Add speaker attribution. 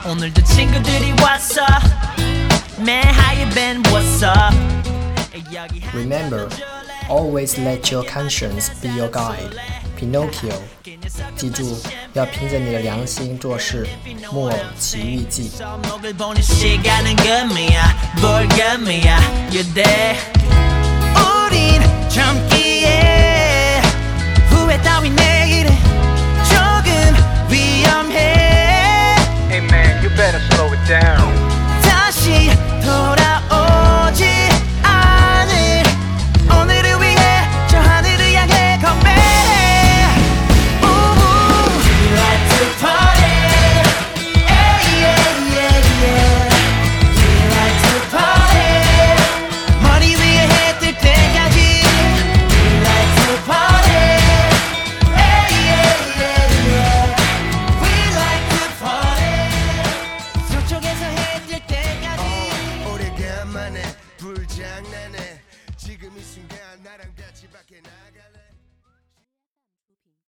Speaker 1: 오늘도 친구들이 왔어 Man how you been what's up
Speaker 2: Remember, always let your conscience be your guide. Pinocchio. 记住，要凭着你的良心做事，木偶奇遇记。
Speaker 1: 우린 젊기에 후회 따윈 내일은 조금 위험해
Speaker 3: Hey man, you better slow it down.
Speaker 1: 다시 돌아오지 않을 오늘을 위해 저 하늘을 향해 건배해 We like to party yeah, yeah, yeah, yeah. We like to party 머리 위에 해 뜰 때까지 We like to party yeah, yeah, yeah, yeah. We like to party 서쪽에서 해 뜰 때까지
Speaker 4: 오래간만에 불장난해 지금 이 순간 나랑 같이 밖에 나갈래